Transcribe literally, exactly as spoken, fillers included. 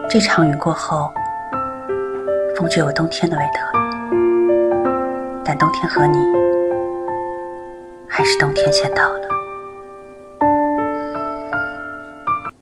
这场雨过后，风就有冬天的味道了，但冬天和你，还是冬天先到了。